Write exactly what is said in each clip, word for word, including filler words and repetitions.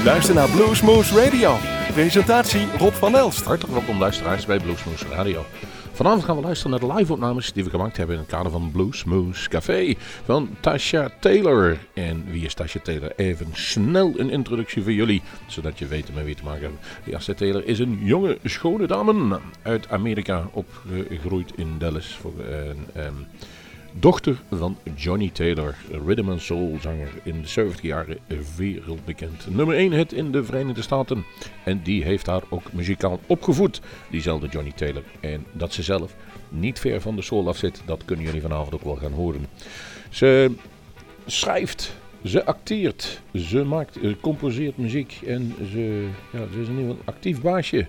U luistert naar Bluesmoose Radio. Presentatie Rob van Elst. Hartelijk welkom luisteraars bij Bluesmoose Radio. Vanavond gaan we luisteren naar de live-opnames die we gemaakt hebben in het kader van Bluesmoose Café van Tasha Taylor. En wie is Tasha Taylor? Even snel een introductie voor jullie, zodat je weet met wie te maken hebben. Tasha Taylor is een jonge, schone dame uit Amerika, opgegroeid in Dallas. Voor een um, dochter van Johnny Taylor, rhythm and soul zanger in de zeventig jaren, wereldbekend. Nummer één hit in de Verenigde Staten. En die heeft haar ook muzikaal opgevoed, diezelfde Johnny Taylor. En dat ze zelf niet ver van de soul af zit, dat kunnen jullie vanavond ook wel gaan horen. Ze schrijft, ze acteert, ze maakt, ze composeert muziek en ze, ja, ze is in ieder geval een actief baasje.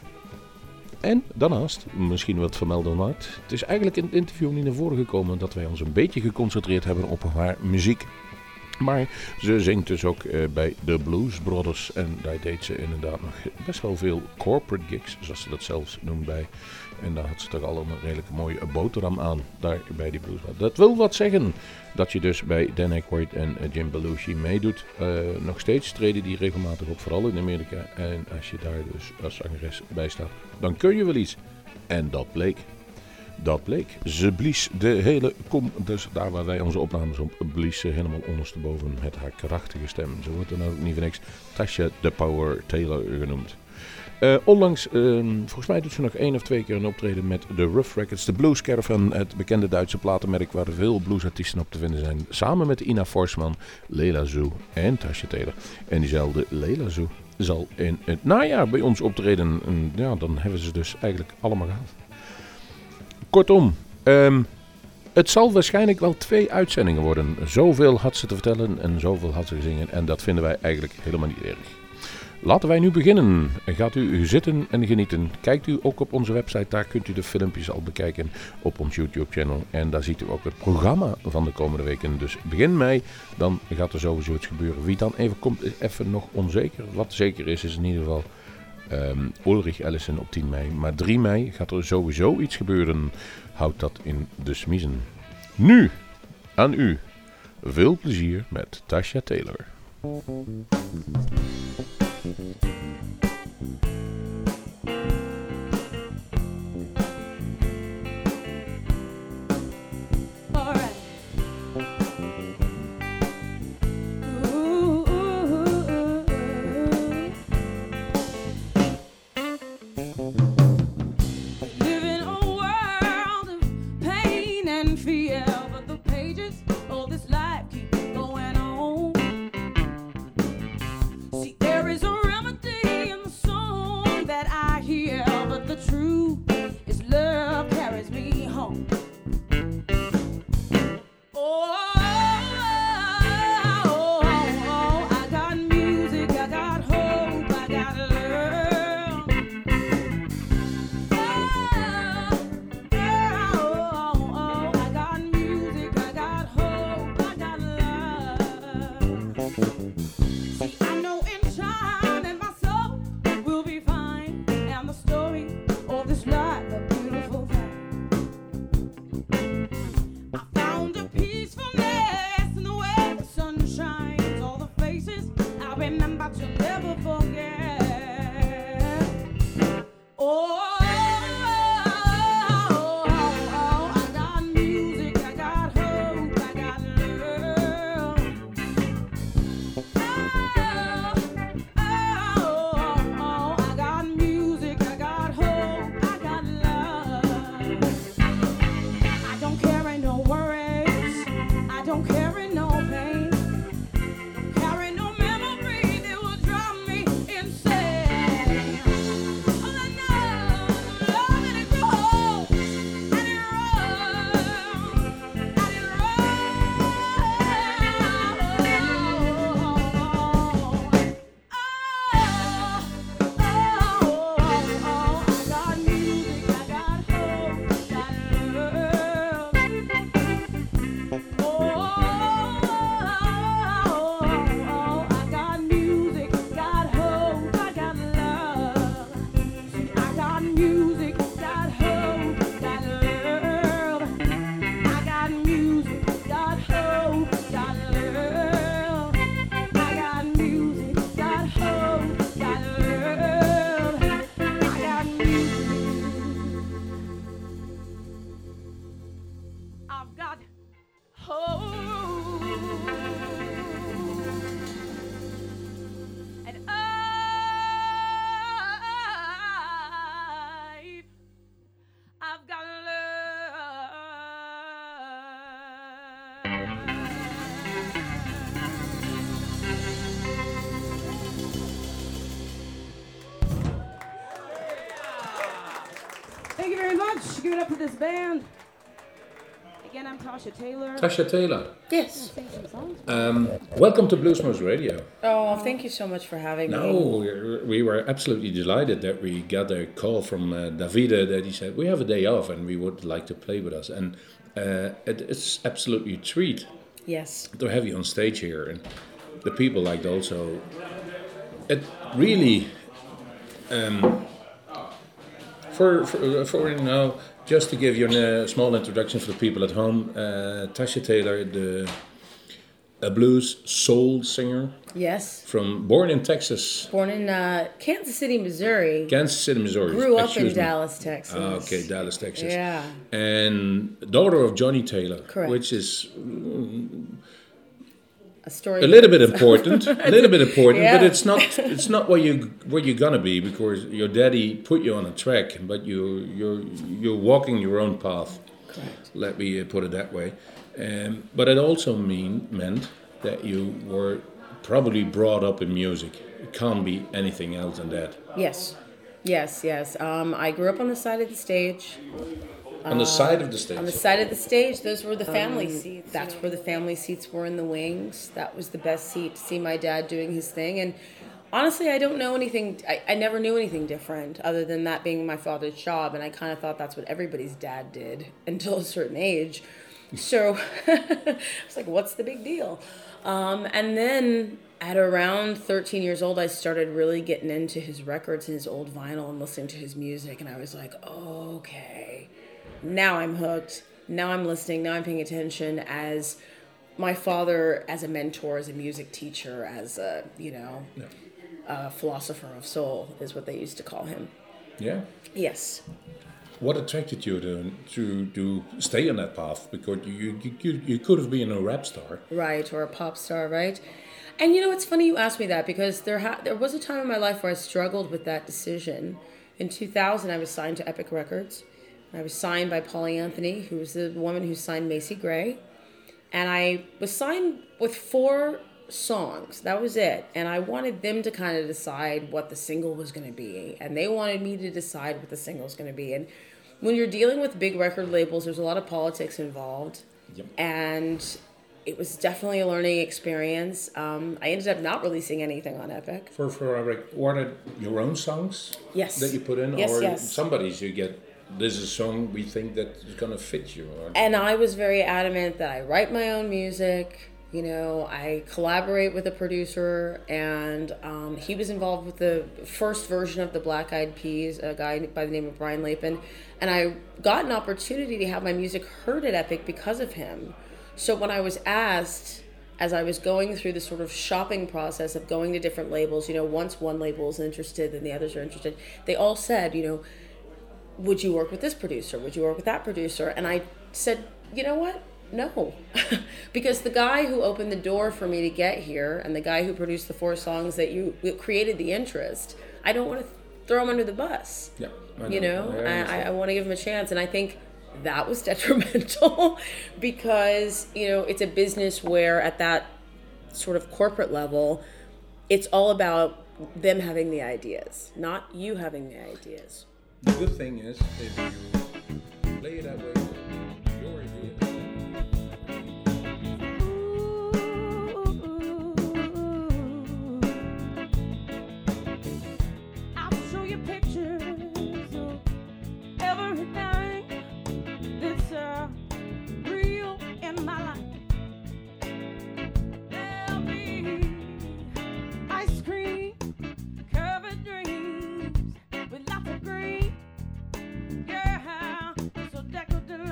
En daarnaast, misschien wat vermelden waard, het is eigenlijk in het interview niet naar voren gekomen dat wij ons een beetje geconcentreerd hebben op haar muziek. Maar ze zingt dus ook uh, bij de Blues Brothers en daar deed ze inderdaad nog best wel veel corporate gigs, zoals ze dat zelfs noemt bij. En daar had ze toch al een redelijk mooie boterham aan, daar bij die Blues Brothers. Dat wil wat zeggen dat je dus bij Dan Aykroyd en uh, Jim Belushi meedoet. Uh, nog steeds treden die regelmatig op, vooral in Amerika. En als je daar dus als zangeres bij staat, dan kun je wel iets. En dat bleek. Dat bleek. Ze blies de hele kom, dus daar waar wij onze opnames op, blies ze helemaal ondersteboven met haar krachtige stem. Zo wordt er nou ook niet voor niks Tasha the Power Taylor genoemd. Uh, onlangs, uh, volgens mij doet ze nog één of twee keer een optreden met de Rough Records, de Blues Caravan, het bekende Duitse platenmerk waar veel bluesartiesten op te vinden zijn. Samen met Ina Forsman, Leila Zoo en Tasha Taylor. En diezelfde Leila Zoo zal in het najaar bij ons optreden. En ja, dan hebben ze dus eigenlijk allemaal gehad. Kortom, um, het zal waarschijnlijk wel twee uitzendingen worden. Zoveel had ze te vertellen en zoveel had ze gezingen. En dat vinden wij eigenlijk helemaal niet erg. Laten wij nu beginnen. Gaat u zitten en genieten. Kijkt u ook op onze website. Daar kunt u de filmpjes al bekijken op ons YouTube-channel. En daar ziet u ook het programma van de komende weken. Dus begin mei, dan gaat er sowieso iets gebeuren. Wie dan even komt, is even nog onzeker. Wat zeker is, is in ieder geval Um, Ulrich Ellison op tien mei. Maar drie mei gaat er sowieso iets gebeuren. Houd dat in de smiezen. Nu, aan u. Veel plezier met Tasha Taylor. Oh much. Give it up to this band. Again, I'm Tasha Taylor. Tasha Taylor. Yes. Um, welcome to Bluesmoose Radio. Oh, thank you so much for having no, me. No, we were absolutely delighted that we got a call from uh, Davide that he said, we have a day off and we would like to play with us. And uh, it, it's absolutely a treat. Yes. To have you on stage here. And the people liked also. It really, um, for, for, for, you know, just to give you a small introduction for the people at home, uh, Tasha Taylor, the a blues soul singer. Yes. From born in Texas. Born in uh, Kansas City, Missouri. Kansas City, Missouri. Grew up Excuse in me. Dallas, Texas. Ah, okay, Dallas, Texas. Yeah. And daughter of Johnny Taylor. Correct. Which is mm, a story. A little bit important. a little bit important, yeah. but it's not. It's not where you where you're gonna be because your daddy put you on a track, but you you're you're walking your own path. Correct. Let me put it that way. Um, but it also mean meant that you were probably brought up in music. It can't be anything else than that. Yes, yes, yes. Um, I grew up on the side of the stage. On the uh, side of the stage? On the side of the stage, those were the family um, seats. That's where the family seats were in the wings. That was the best seat to see my dad doing his thing. And honestly, I don't know anything, I, I never knew anything different other than that being my father's job. And I kind of thought that's what everybody's dad did until a certain age. So I was like, what's the big deal? Um, and then at around thirteen years old, I started really getting into his records and his old vinyl and listening to his music. And I was like, oh, okay. Now I'm hooked. Now I'm listening. Now I'm paying attention as my father, as a mentor, as a music teacher, as a, you know, yeah. a philosopher of soul is what they used to call him. Yeah? Yes. What attracted you to to, to stay on that path? Because you, you, you could have been a rap star. Right, or a pop star, right? And you know, it's funny you asked me that because there ha- there was a time in my life where I struggled with that decision. In two thousand, I was signed to Epic Records. I was signed by Polly Anthony, who was the woman who signed Macy Gray. And I was signed with four songs. That was it. And I wanted them to kind of decide what the single was going to be. And they wanted me to decide what the single was going to be. And when you're dealing with big record labels, there's a lot of politics involved. Yep. And it was definitely a learning experience. Um, I ended up not releasing anything on Epic. For, for Epic, were it your own songs? Yes. That you put in? Yes, or yes. somebody's you get... This is a song we think that is going to fit you. Or... And I was very adamant that I write my own music. You know, I collaborate with a producer, and um, he was involved with the first version of the Black Eyed Peas, a guy by the name of Brian Lapin. And I got an opportunity to have my music heard at Epic because of him. So when I was asked, as I was going through the sort of shopping process of going to different labels, you know, once one label is interested, then the others are interested, they all said, you know, would you work with this producer? Would you work with that producer? And I said, you know what? No. Because the guy who opened the door for me to get here and the guy who produced the four songs that you created the interest, I don't want to throw him under the bus. Yeah, I know. You know, I, I, I want to give him a chance. And I think that was detrimental because, you know, it's a business where at that sort of corporate level, it's all about them having the ideas, not you having the ideas. The good thing is, if you play it that way, your idea. I'll show you pictures of everything that's uh, real in my life. There'll be ice cream, covered dreams with lots of green. Yeah, so decadent.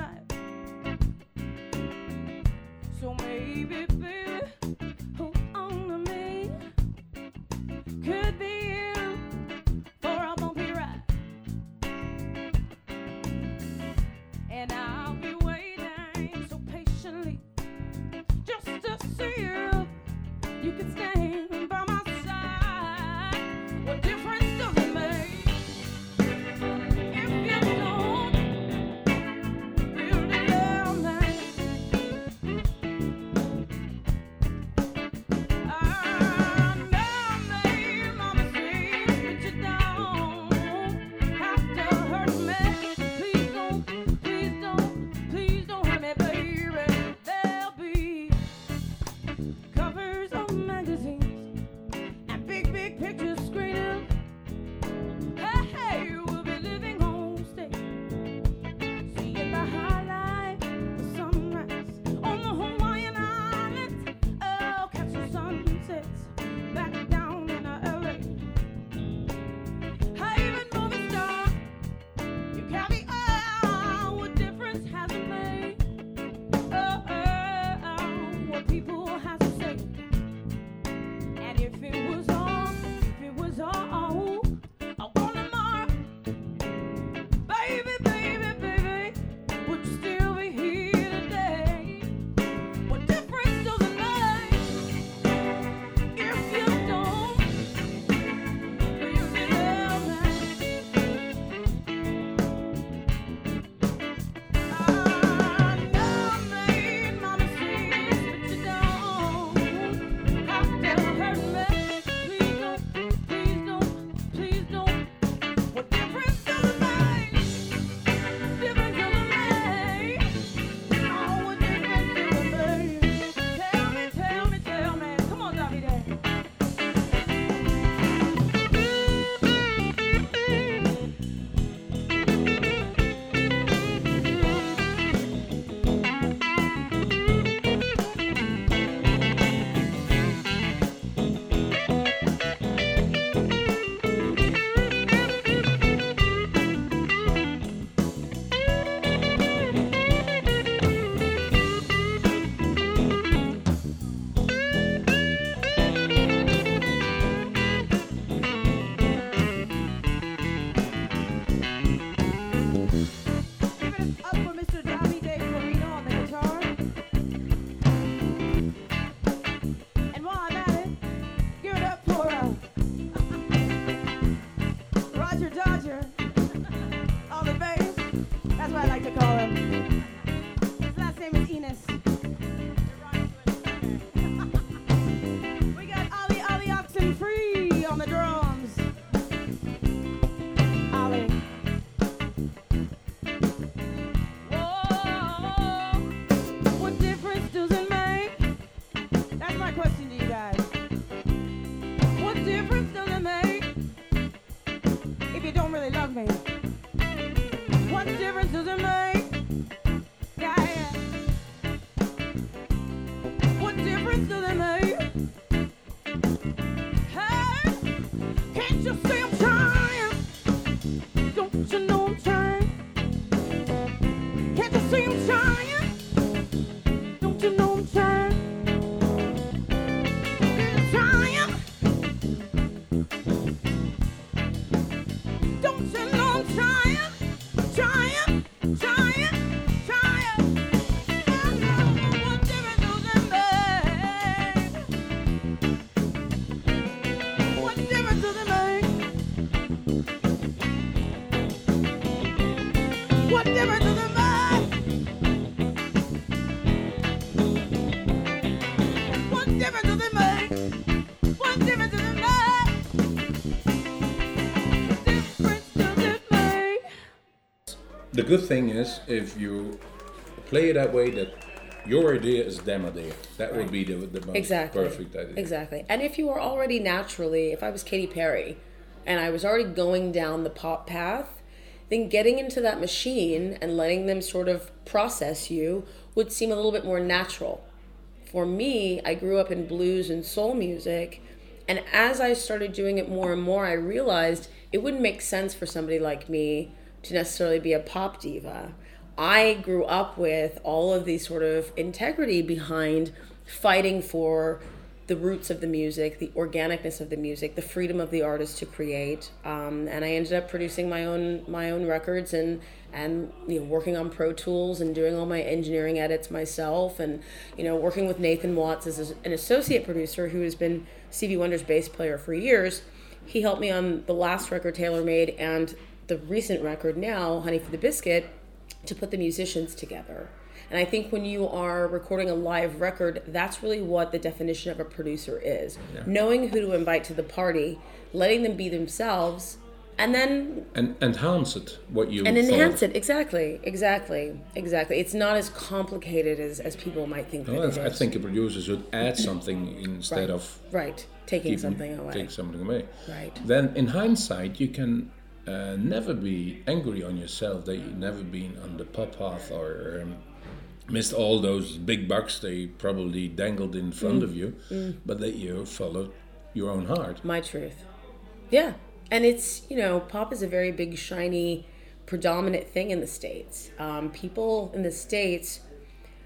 people have to say. And if it was all, if it was all, I want tomorrow, baby, baby, baby, would you still be here today? What difference does it make if you don't really love me? I know I made my mistakes, but you don't have to hurt me. Please don't, please don't, please don't. What difference does it make? Difference does it make? Oh, what difference does it make? Tell me, tell me, tell me. Come on, Davide. Give it up for Mister Davide Florino on the guitar. And while I'm at it, give it up for uh, Roger Dodger on the bass. That's what I like to call him. His last name is Enos. We got Ollie Ollie Oxen Free on the drums. Ollie. Whoa, what difference does it make? That's my question to you guys. What difference does it make if you don't really love me? What difference does it make? Yeah, yeah. What difference does it make? Hey, can't you see I'm trying? Don't you know I'm trying? Can't you see I'm trying? Don't you know I'm trying? I'm trying. Don't you know I'm trying? Trying, trying, trying. What difference does it make? What difference does it make? What difference does it make? What difference does it make? What difference does it make? What difference does it make? The good thing is if you play it that way, that your idea is them idea. That would be the, the most Exactly. perfect idea. Exactly. And if you were already naturally, if I was Katy Perry and I was already going down the pop path, then getting into that machine and letting them sort of process you would seem a little bit more natural. For me, I grew up in blues and soul music, and as I started doing it more and more, I realized it wouldn't make sense for somebody like me to necessarily be a pop diva. I grew up with all of these sort of integrity behind fighting for the roots of the music, the organicness of the music, the freedom of the artist to create, um, and I ended up producing my own my own records and and you know working on Pro Tools and doing all my engineering edits myself, and you know working with Nathan Watts as an associate producer who has been Stevie Wonder's bass player for years. He helped me on the last record Taylor made and the recent record now, Honey for the Biscuit, to put the musicians together. And I think when you are recording a live record, that's really what the definition of a producer is. Yeah. Knowing who to invite to the party, letting them be themselves, and then... And enhance it, what you And thought. enhance it, exactly, exactly, exactly. It's not as complicated as, as people might think No, that it I is. think a producer should add something instead Right. of Right, taking keeping- something away. Take something away. Right. Then in hindsight, you can uh, never be angry on yourself that you've never been on the pop path or um, missed all those big bucks they probably dangled in front Mm. of you, Mm. but that you followed your own heart. My truth. Yeah. And it's, you know, pop is a very big, shiny, predominant thing in the States. Um, people in the States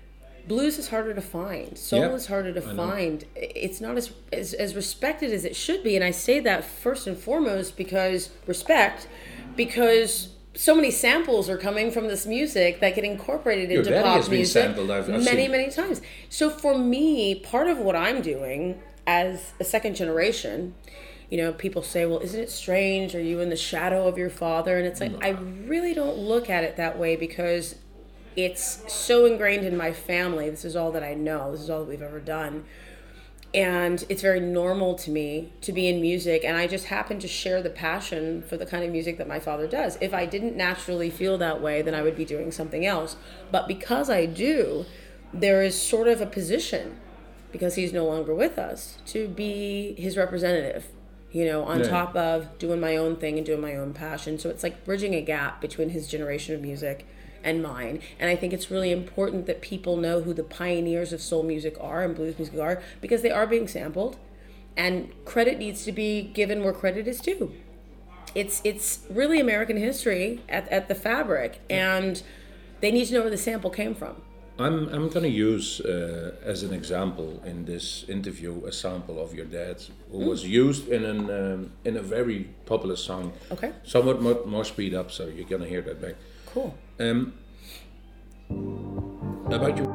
blues is harder to find. Soul Yeah, is harder to I know. find. It's not as, as as respected as it should be, and I say that first and foremost because respect, because so many samples are coming from this music that get incorporated Your into daddy pop has been music sampled, I've- I've many seen. many times. So for me, part of what I'm doing as a second generation, you know, people say, well, isn't it strange? Are you in the shadow of your father? And it's like, I really don't look at it that way because it's so ingrained in my family. This is all that I know. This is all that we've ever done. And it's very normal to me to be in music. And I just happen to share the passion for the kind of music that my father does. If I didn't naturally feel that way, then I would be doing something else. But because I do, there is sort of a position, because he's no longer with us, to be his representative, you know, on Yeah. top of doing my own thing and doing my own passion. So it's like bridging a gap between his generation of music and mine. And I think it's really important that people know who the pioneers of soul music are and blues music are, because they are being sampled, and credit needs to be given where credit is due. It's it's really American history at, at the fabric, and they need to know where the sample came from. I'm I'm going to use uh, as an example in this interview a sample of your dad, who was used in an um, in a very popular song. Okay. Somewhat more, more speed up, so you're going to hear that back. Cool. Um, about you.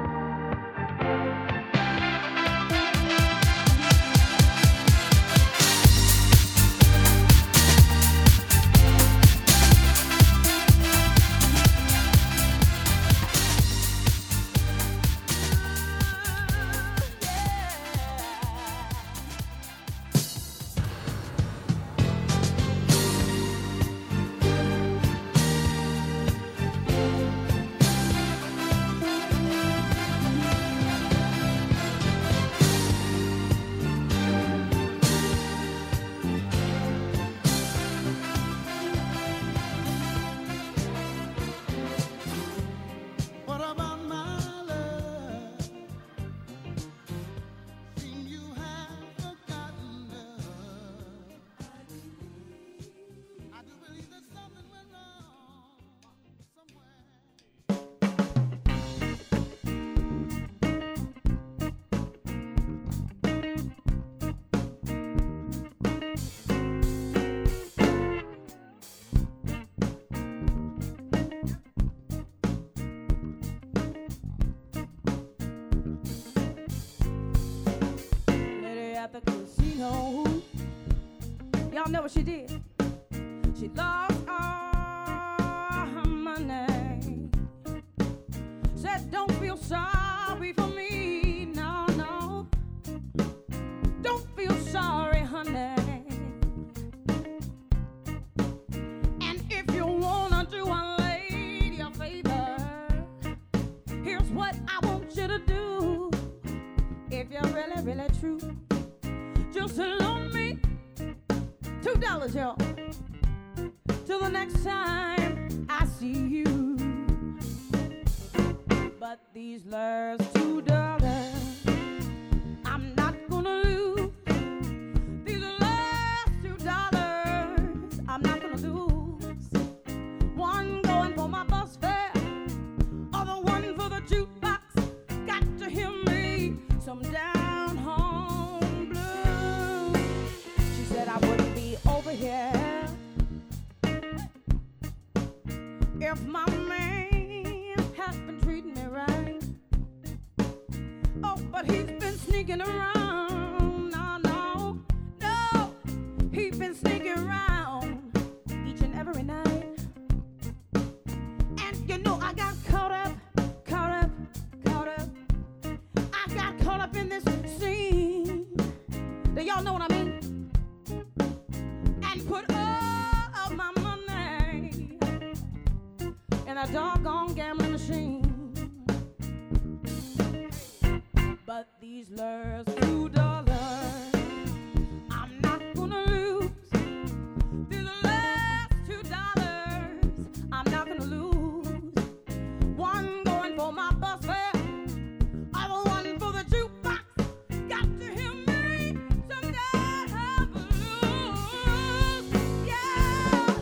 What about my love? Seem you have forgotten love. I do believe that something went wrong somewhere. Lady at the casino. Y'all know what she did? She lost all her money. Said, don't feel sorry for me. No, no. Don't feel sorry, honey. And if you wanna do a lady a favor, here's what I want you to do. If you're really, really true, just loan me two dollars, y'all, till the next time I see you. But these last two dollars, I'm not gonna lose. These last two dollars, I'm not gonna lose. One going for my bus fare, other one for the jukebox. Got to hear me some down home blues. She said I wouldn't be over here if my man has been treating me right. Oh, but he's been sneaking around. No, no, no. He's been sneaking around each and every night. And you know I got caught up, caught up, caught up. I got caught up in this scene. Do y'all know what I mean? And put all of my money in a doggone gambling machine. But these last two dollars, I'm not gonna lose. These last two dollars, I'm not gonna lose. One going for my bus fare, other one for the jukebox. Got to hear me some down blues. Yeah.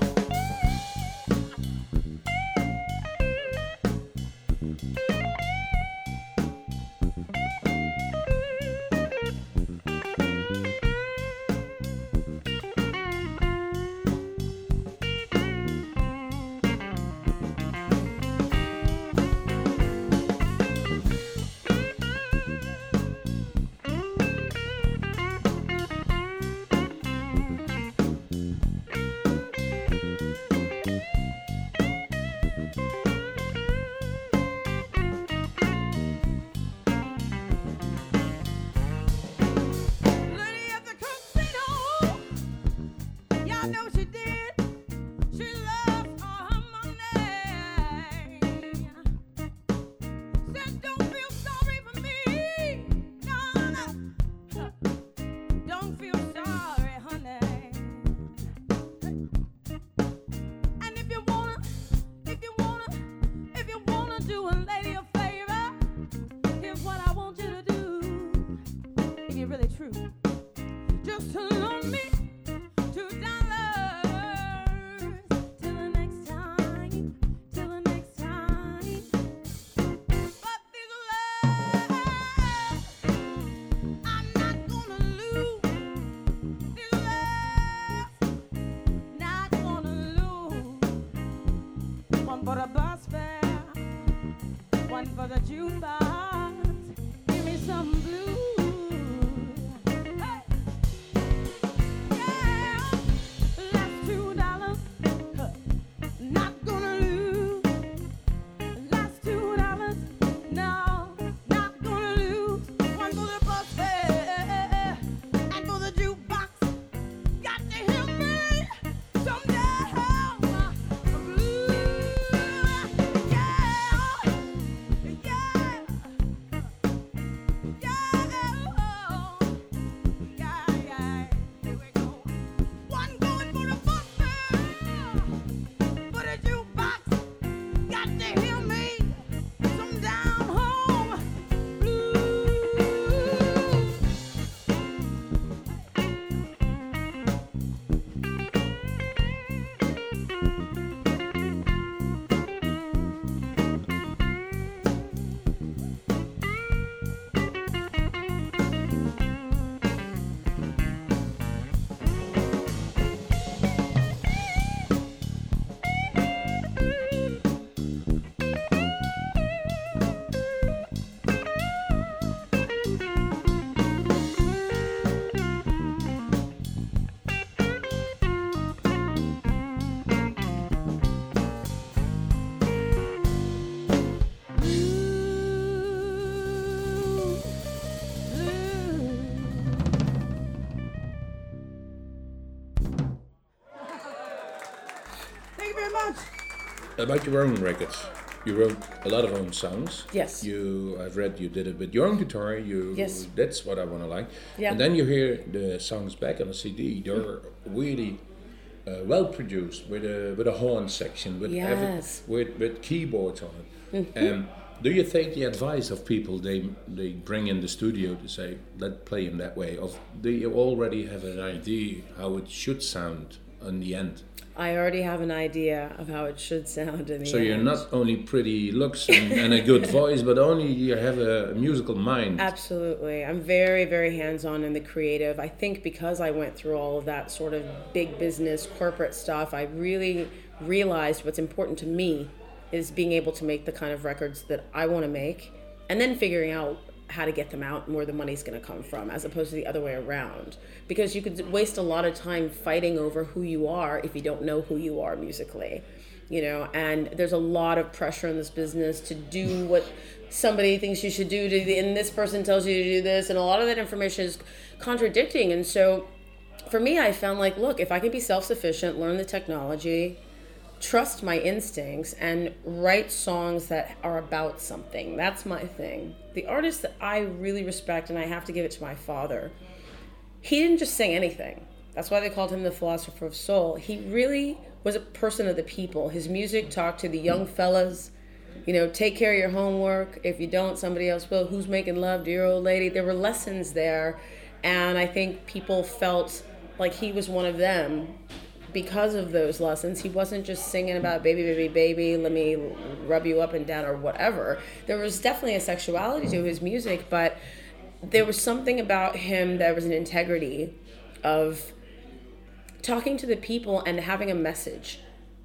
About your own records, you wrote a lot of own songs. Yes. You, I've read you did it with your own guitar. You, Yes. That's what I want to like. Yeah. And then you hear the songs back on a C D. They're really uh, well produced with a with a horn section, with every, Yes. with with keyboards on it. Um, do you take the advice of people they they bring in the studio to say, let's play them that way, or do you already have an idea how it should sound in the end? I already have an idea of how it should sound in the So end. you're not only pretty looks and, and a good voice, but only you have a musical mind. Absolutely. I'm very, very hands-on in the creative. I think because I went through all of that sort of big business, corporate stuff, I really realized what's important to me is being able to make the kind of records that I want to make, and then figuring out how to get them out and where the money's going to come from, as opposed to the other way around. Because you could waste a lot of time fighting over who you are if you don't know who you are musically, you know. And there's a lot of pressure in this business to do what somebody thinks you should do, to, and this person tells you to do this, and a lot of that information is contradicting. And so, for me, I found like, look, if I can be self-sufficient, learn the technology, trust my instincts, and write songs that are about something. That's my thing. The artist that I really respect, and I have to give it to my father, he didn't just sing anything. That's why they called him the philosopher of soul. He really was a person of the people. His music talked to the young fellas, you know, take care of your homework. If you don't, somebody else will. Who's making love, dear old lady? There were lessons there, and I think people felt like he was one of them. Because of those lessons, he wasn't just singing about baby, baby, baby, let me rub you up and down or whatever. There was definitely a sexuality to his music, but there was something about him that was an integrity of talking to the people and having a message.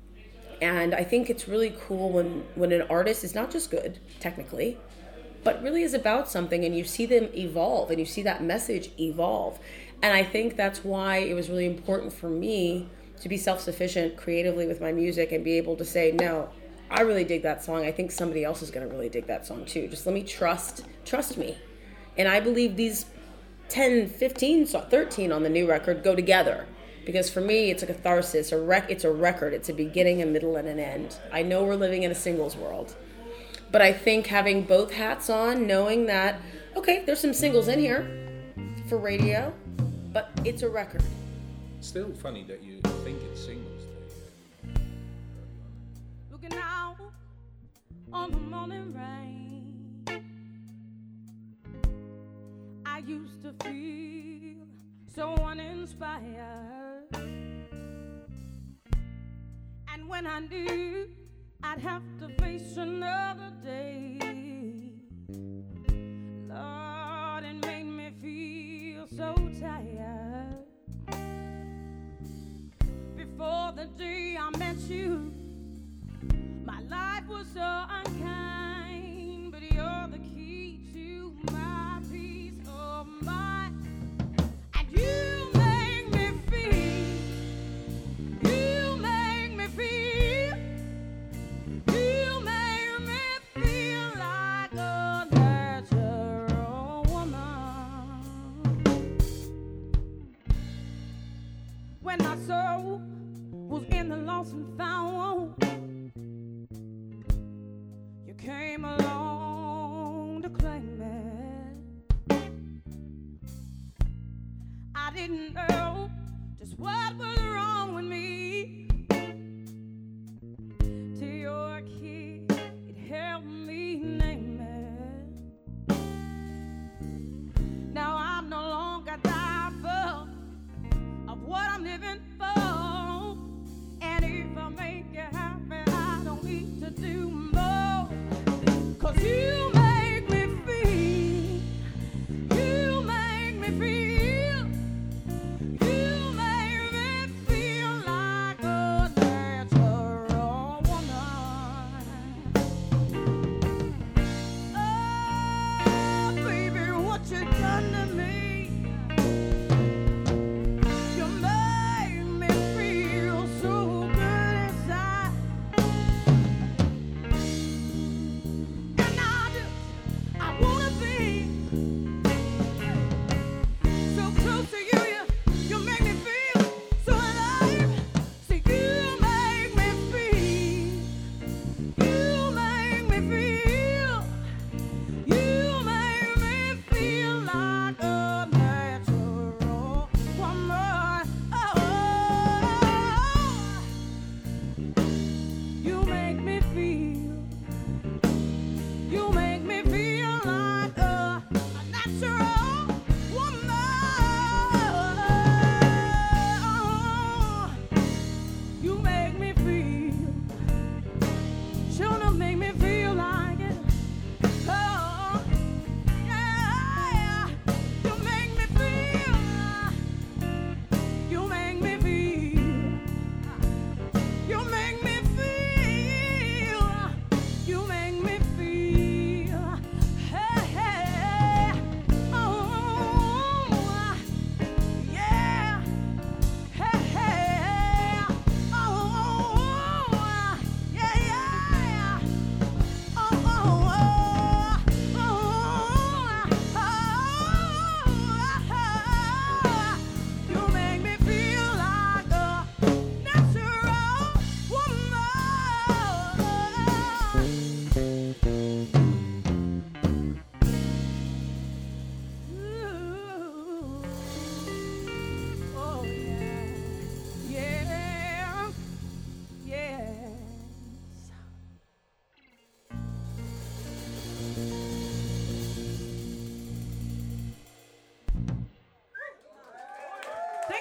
And I think it's really cool when, when an artist is not just good, technically, but really is about something, and you see them evolve and you see that message evolve. And I think that's why it was really important for me to be self-sufficient creatively with my music and be able to say, no, I really dig that song. I think somebody else is going to really dig that song too. Just let me trust, trust me. And I believe these ten, fifteen, thirteen on the new record go together. Because for me, it's a catharsis, a rec- it's a record. It's a beginning, a middle, and an end. I know we're living in a singles world. But I think having both hats on, knowing that, okay, there's some singles in here for radio, but it's a record. Still funny that you think it's Singles Day. Looking out on the morning rain, I used to feel so uninspired, and when I knew I'd have to face another day, Lord, it made me feel so tired. Before the day I met you, my life was so unkind, but you're the key to my peace of mind. And you make me feel, you make me feel, you make me feel like a natural woman. When I saw was in the lost and found, you came along to claim it. I didn't know just what was wrong with me, till your kid it helped me name it. Now I'm no longer doubtful of what I'm living for. And if I make you happy, I don't need to do more. Cause you make me feel, you make me feel, you make me feel like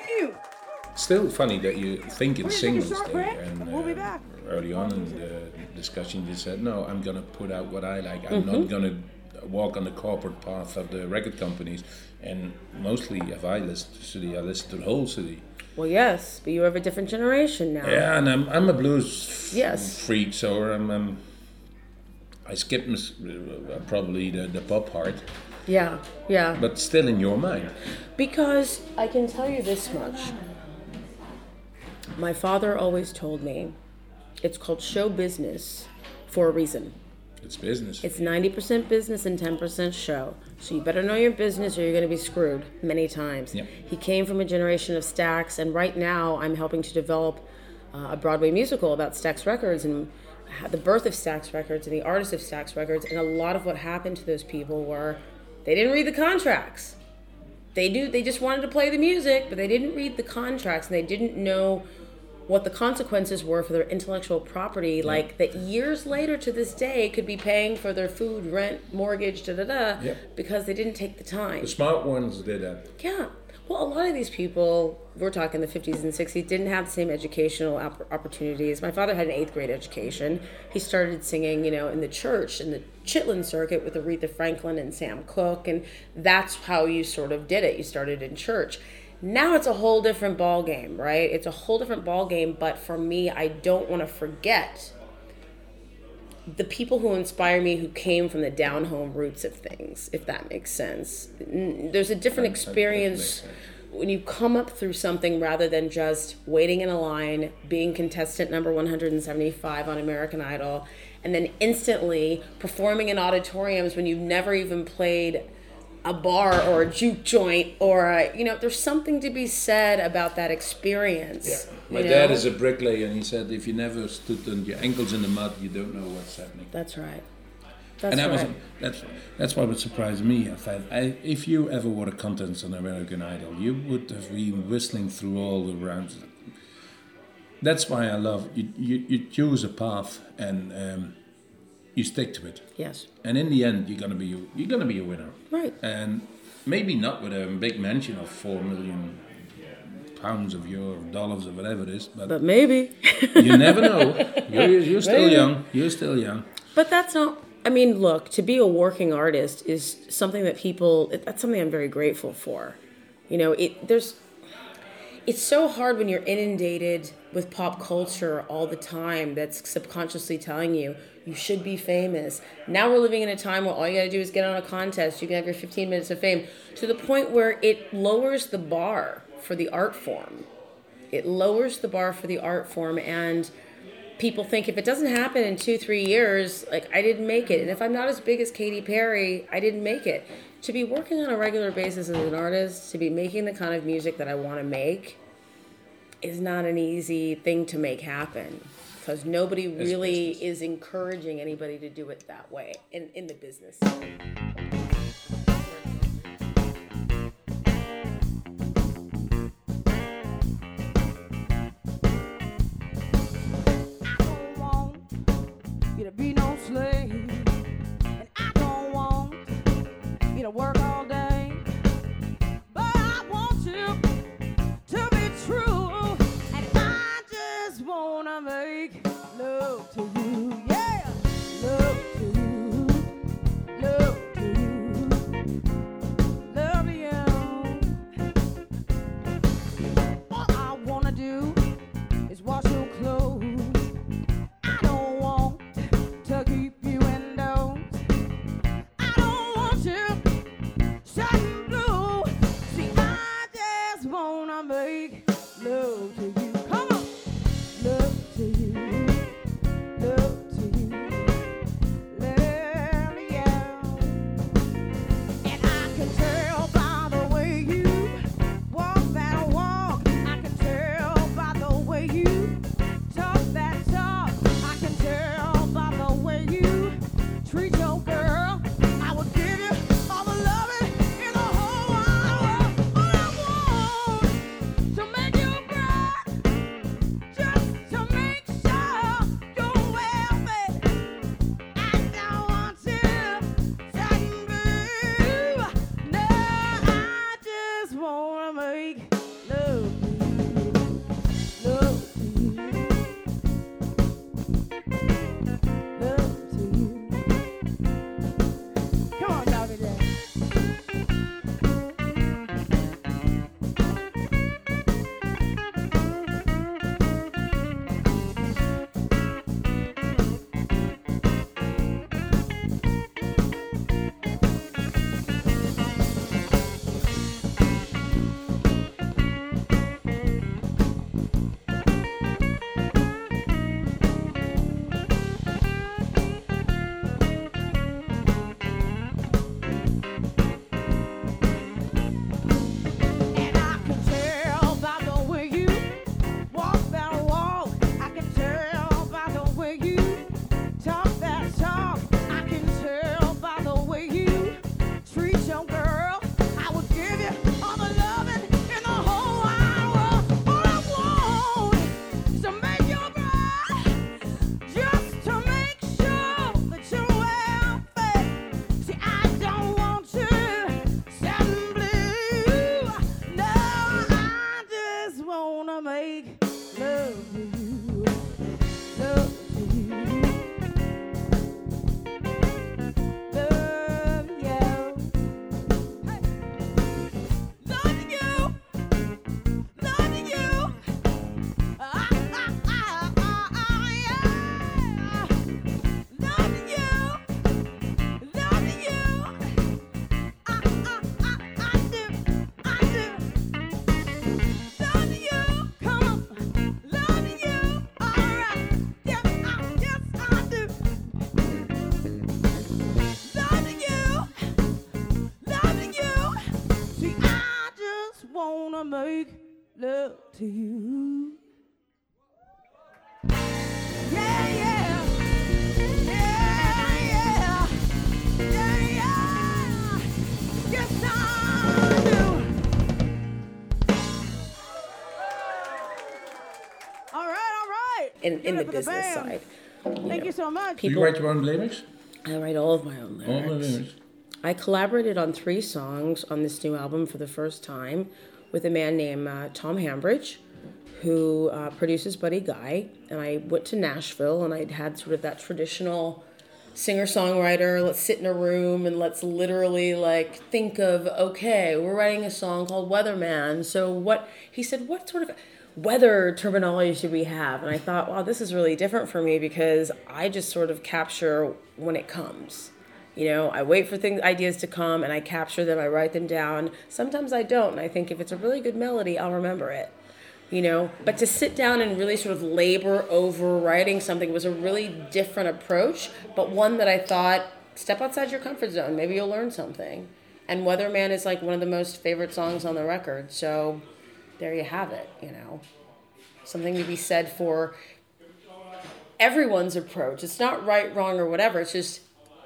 Thank you. Still funny that you think in We're gonna take a singles short there, break, and and we'll be uh, back. early on in the discussion you said, no, I'm gonna put out what I like. I'm Mm-hmm. not gonna walk on the corporate path of the record companies. And mostly, if I listen to City, I listen to the whole city. Well, yes, but you're of a different generation now. Yeah, and I'm I'm a blues f- Yes. freak, so I'm, I'm I skip mis- uh, probably the, the pop part, Yeah, yeah. but still in your mind. Because I can tell you this much. My father always told me it's called show business for a reason. It's business. It's ninety percent business and ten percent show. So you better know your business or you're going to be screwed many times. Yep. He came from a generation of Stax, and right now I'm helping to develop uh, a Broadway musical about Stax Records and ha- the birth of Stax Records and the artists of Stax Records. And a lot of what happened to those people were they didn't read the contracts. They do. They just wanted to play the music, but they didn't read the contracts, and they didn't know what the consequences were for their intellectual property. Like that, years later to this day, could be paying for their food, rent, mortgage, da da da, Yep. because they didn't take the time. The smart ones did that. Yeah. Well, a lot of these people, we're talking the fifties and sixties, didn't have the same educational opp- opportunities. My father had an eighth grade education. He started singing, you know, in the church, in the Chitlin circuit with Aretha Franklin and Sam Cooke, and that's how you sort of did it. You started in church. Now it's a whole different ball game, right? It's a whole different ball game, but for me, I don't want to forget the people who inspire me who came from the down home roots of things, if that makes sense. N- There's a different That- that- that experience makes sense. when you come up through something rather than just waiting in a line, being contestant number one hundred seventy-five on American Idol, and then instantly performing in auditoriums when you've never even played a bar or a juke joint or a, you know, there's something to be said about that experience. My you dad know? is a bricklayer, and he said, if you never stood on your ankles in the mud, you don't know what's happening. That's right. That's and that right. was that's that's what would surprise me. I thought, I, if you ever were the contents on American Idol, you would have been whistling through all the rounds. That's why I love you. You, you choose a path and um, you stick to it, Yes. and in the end, you're gonna be you're gonna be a winner. Right. And maybe not with a big mansion of four million pounds of euro, dollars, or whatever it is, but, But maybe. you never know. You're, you're still Maybe. young. You're still young. But that's not, I mean, look, to be a working artist is something that people, that's something I'm very grateful for. You know, it, there's, it's so hard when you're inundated with pop culture all the time that's subconsciously telling you, you should be famous. Now we're living in a time where all you gotta do is get on a contest. You can have your fifteen minutes of fame, to the point where it lowers the bar for the art form. It lowers the bar for the art form, and people think if it doesn't happen in two, three years, like, I didn't make it. And if I'm not as big as Katy Perry, I didn't make it. To be working on a regular basis as an artist, to be making the kind of music that I want to make, is not an easy thing to make happen. Because nobody really business. is encouraging anybody to do it that way in, in the business. I don't want you to be no slave, and I don't want you to work all day, but I want you to be true, and I just wanna make love to you, yeah, love to you, love to wanna make love to you. Yeah, yeah. Yeah, yeah. Yeah, yeah. Yes, I do. All right, all right. In, in Give the it for business band. side. Thank you so much. Do you People- write your own lyrics? I write all of my own All lyrics. the lyrics. I collaborated on three songs on this new album for the first time with a man named uh, Tom Hambridge, who uh, produces Buddy Guy. And I went to Nashville, and I'd had sort of that traditional singer-songwriter, let's sit in a room and let's literally like think of, okay, we're writing a song called Weatherman. So what, he said, what sort of weather terminology should we have? And I thought, wow, this is really different for me because I just sort of capture when it comes. You know, I wait for things, ideas to come, and I capture them. I write them down. Sometimes I don't, and I think if it's a really good melody, I'll remember it. You know, but to sit down and really sort of labor over writing something was a really different approach, but one that I thought, step outside your comfort zone. Maybe you'll learn something. And Weatherman is like one of the most favorite songs on the record. So there you have it, you know. Something to be said for everyone's approach. It's not right, wrong, or whatever. It's just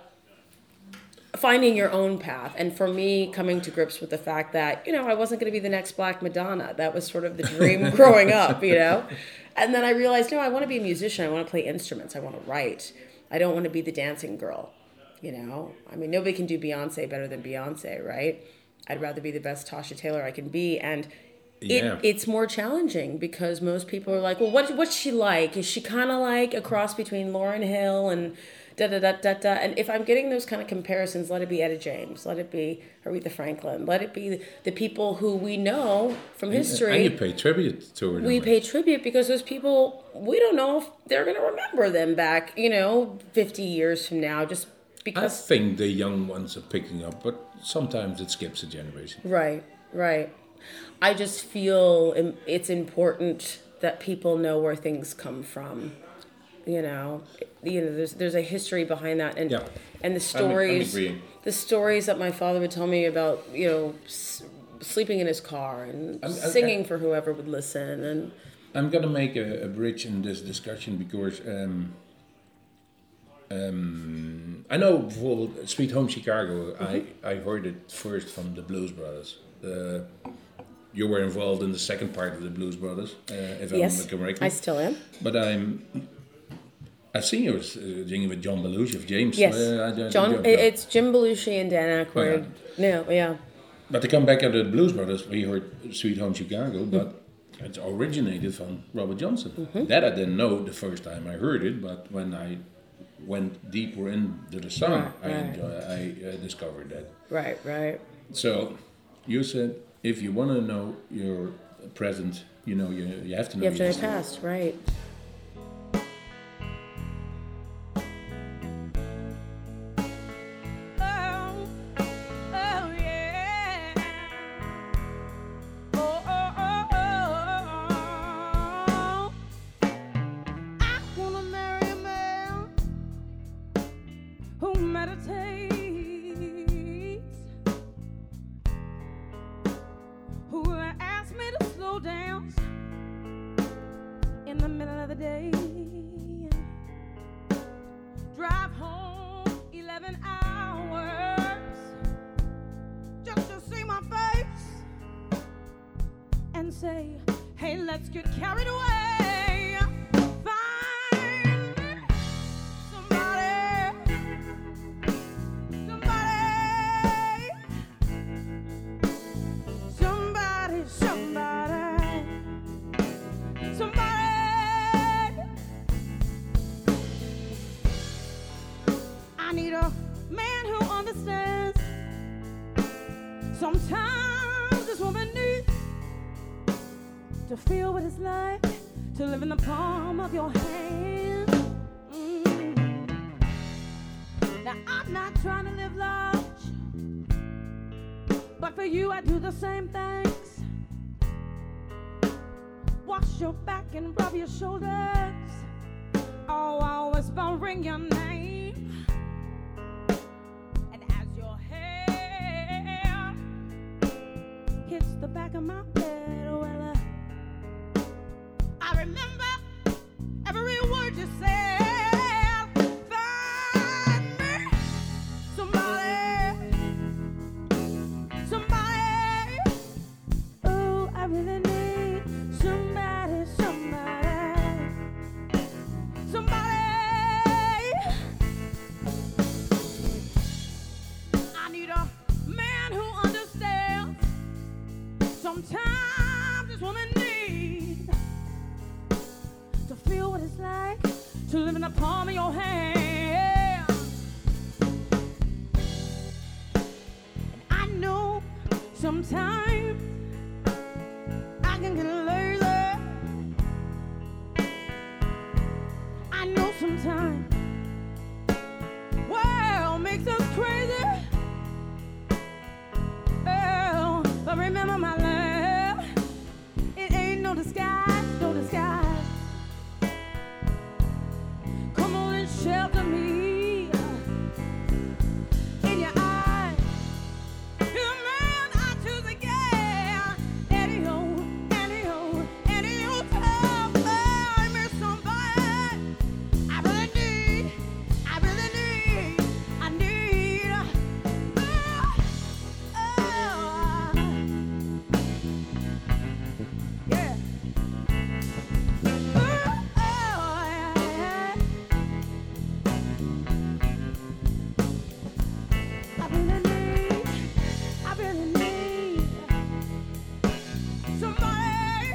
finding your own path. And for me, coming to grips with the fact that, you know, I wasn't going to be the next Black Madonna. That was sort of the dream growing up, you know. And then I realized, no, I want to be a musician. I want to play instruments. I want to write. I don't want to be the dancing girl, you know. I mean, nobody can do Beyonce better than Beyonce, right? I'd rather be the best Tasha Taylor I can be. And Yeah. It, it's more challenging because most people are like, well, what, what's she like? Is she kind of like a cross between Lauryn Hill and da da da da da? And if I'm getting those kind of comparisons, let it be Etta James, let it be Aretha Franklin, let it be the people who we know from history. And you pay tribute to her. We don't pay tribute because those people, we don't know if they're going to remember them back, you know, fifty years from now, just I because. think the young ones are picking up, but sometimes it skips a generation. Right, right. I just feel im- it's important that people know where things come from. You know, you know, there's there's a history behind that, and Yeah. and the I'm- I'm stories, agreeing. the stories that my father would tell me about, you know, s- sleeping in his car and I'm- I'm- singing for whoever would listen, and I'm going to make a, a bridge in this discussion because um, um, I know for Sweet Home Chicago, I, I heard it first from the Blues Brothers. Uh, you were involved in the second part of the Blues Brothers, uh, if yes, I'm correct. I still am. But I'm. I've seen you uh, singing with John Belushi of James. Yes, Uh, I don't- John. don't- it- It's Jim Belushi and Dan Aykroyd. No, yeah, But to come back at the Blues Brothers, we heard Sweet Home Chicago, but it originated from Robert Johnson. Mm-hmm. That I didn't know the first time I heard it, but when I went deeper into the song, Right, I, right. enjoy, I uh, discovered that. right, right. So you said if you want to know your present, you know, you, you have to know You have to know your your past, right? Oh, oh yeah. Oh, oh, oh, oh. I wanna marry a man who meditates, who will ask me to slow down in the middle of the day. Drive home eleven hours just to see my face and say, hey, let's get carried away. Find somebody, somebody, somebody, somebody, somebody. I need a man who understands. Sometimes this woman needs to feel what it's like to live in the palm of your hand. Mm. Now I'm not trying to live large, but for you I do the same things. Wash your back and rub your shoulders. Oh, I'll whisper, ring your name. And as your hair hits the back of my head. Well, uh, I remember every word you said. Find me somebody, somebody. Oh, I really need somebody, somebody, somebody. I need a man who understands. Sometimes this woman needs to feel what it's like to live in the palm of your hand. And I know sometimes I can get lazy. I know sometimes world makes us crazy. Oh, but remember my love, it ain't no disguise, no disguise. Come on and shelter me in your eyes. You're the man I choose again. Any old, any old, any old time. Find me somebody. I really need, I really need, I need. Oh, oh, yeah. Oh, oh, yeah. I really need, I really need somebody.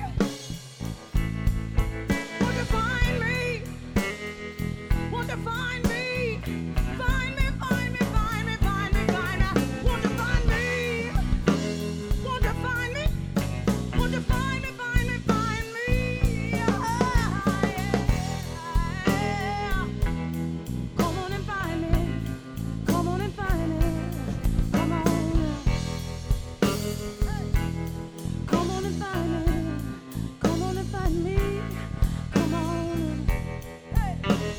Won't you find me? Won't you find me? Find me, find me, find me, find me, find me. Won't you find me? Won't you find me? Won't you find me, find me, find me? Ah, yeah. Come on and find me. Come on and find me. Come on. Come on and find me. Come on and find me. Come on. Hey.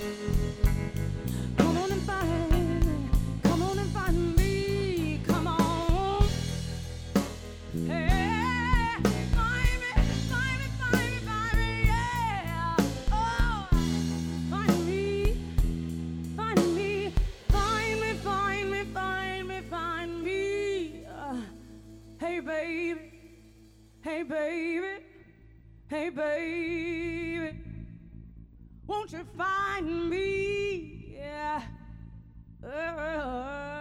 Come on and find me. Come on and find me. Come on. Hey. Find me. Find me. Find me. Find me. Yeah. Oh. Find me. Find me. Find me. Find me. Find me. Find me. Uh, hey, baby. Hey, baby. Hey, baby. Won't you find me? Yeah. Oh.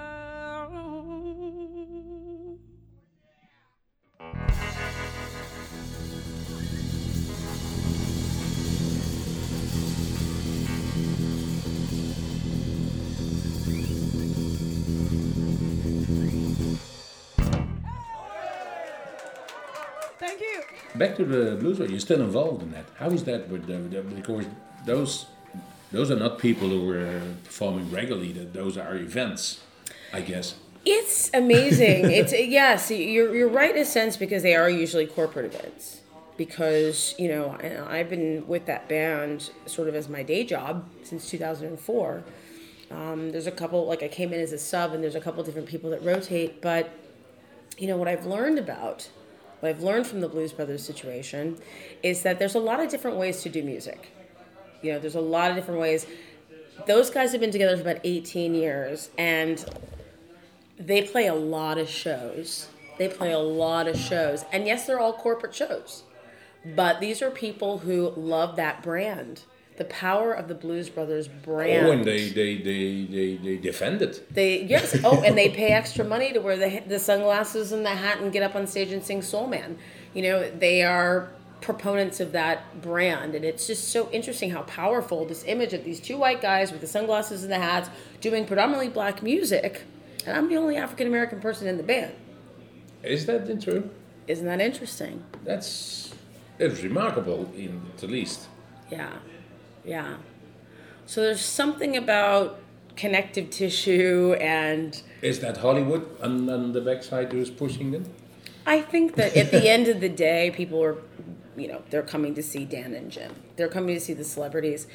Thank you. Back to the blues, you're still involved in that. How is that with the, the because those those are not people who are performing regularly. That those are events, I guess. It's amazing. It's yes, you're you're right in a sense because they are usually corporate events. Because you know, and I've been with that band sort of as my day job since two thousand four. Um, there's a couple, like I came in as a sub, and there's a couple different people that rotate. But you know what I've learned about, what I've learned from the Blues Brothers situation, is that there's a lot of different ways to do music. You know, there's a lot of different ways. Those guys have been together for about eighteen years, and they play a lot of shows. They play a lot of shows. And yes, they're all corporate shows. But these are people who love that brand. The power of the Blues Brothers brand. Oh, and they they, they, they, they defend it. They yes. Oh, and they pay extra money to wear the the sunglasses and the hat and get up on stage and sing Soul Man. You know, they are proponents of that brand, and it's just so interesting how powerful this image of these two white guys with the sunglasses and the hats doing predominantly black music, and I'm the only African American person in the band. Is that true? Isn't that interesting? That's it's remarkable, in the least. Yeah, yeah. So there's something about connective tissue, and Is that Hollywood on, on the backside who's pushing them? I think that at the end of the day, people are, you know, they're coming to see Dan and Jim. They're coming to see the celebrities.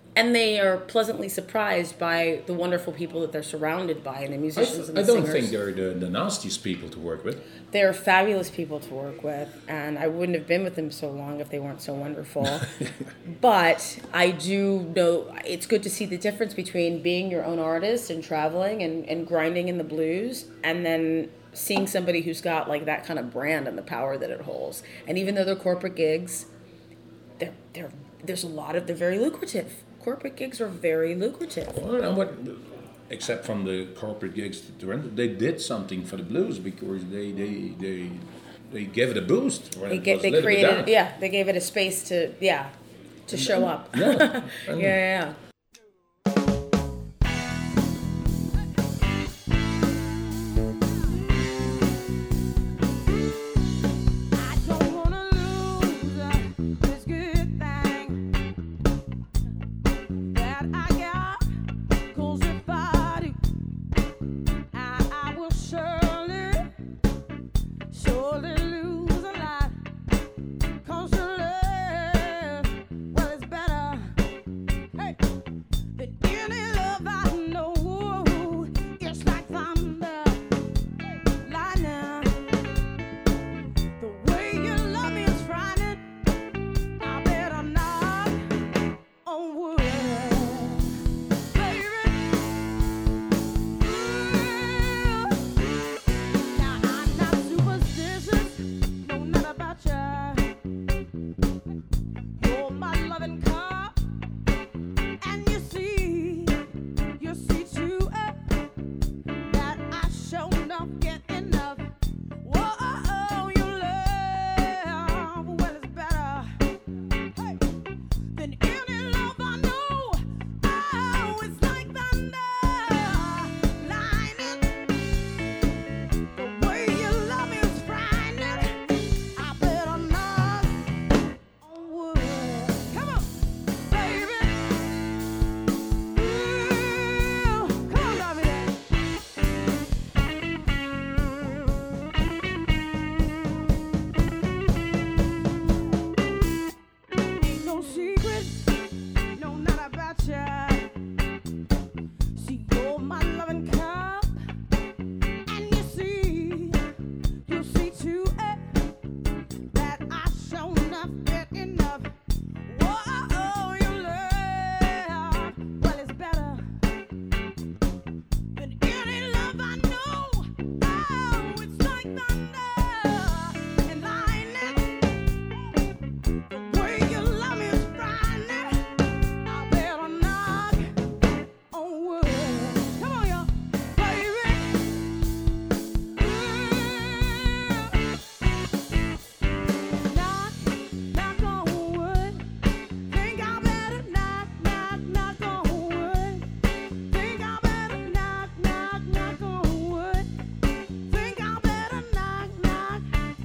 and they are pleasantly surprised by the wonderful people that they're surrounded by, and the I, musicians th- and the I don't singers. think they're the, the nastiest people to work with. They're fabulous people to work with, and I wouldn't have been with them so long if they weren't so wonderful. But I do know it's good to see the difference between being your own artist and traveling and, and grinding in the blues, and then seeing somebody who's got like that kind of brand and the power that it holds. And even though they're corporate gigs, they're, they're, there's a lot of, they're very lucrative. Corporate gigs are very lucrative. Well, and what, except from the corporate gigs, they did something for the blues because they they they, they gave it a boost. When They it get, was a they little bit created, down. yeah, they gave it a space to, yeah, to show up. Yeah. yeah, And- yeah, yeah. I don't wanna lose uh, this good thing that I got. 'Cause if I do, I, I will surely, surely lose a lot. 'Cause your love, well, it's better, hey, than any love I know. It's like thunder, lightning. The way you love me is frightening. I better knock on wood, baby. Ooh. Now I'm not superstitious, no, not about ya. You're my loving cup, and you see, you see too uh, that I show enough, get enough. Whoa, your love, well, it's better, hey, than any love I know. Oh, it's like thunder, lightning. The way you love me is frightening. I better knock on wood. Come on, baby. Ooh, come on, love me then. Ain't no secret, no, not about ya. See, you're my loving cup, and you see, you see too eh, that I show enough, get enough. Whoa, your love, well, it's better than any love I know. Oh, it's like thunder and lightning. The way you love me is frightening. I better knock on wood. Come on, y'all, baby. Ooh. Knock, knock on wood. Think I better knock, knock, knock on wood. Think I better knock, knock, knock on wood. Think I better knock, knock.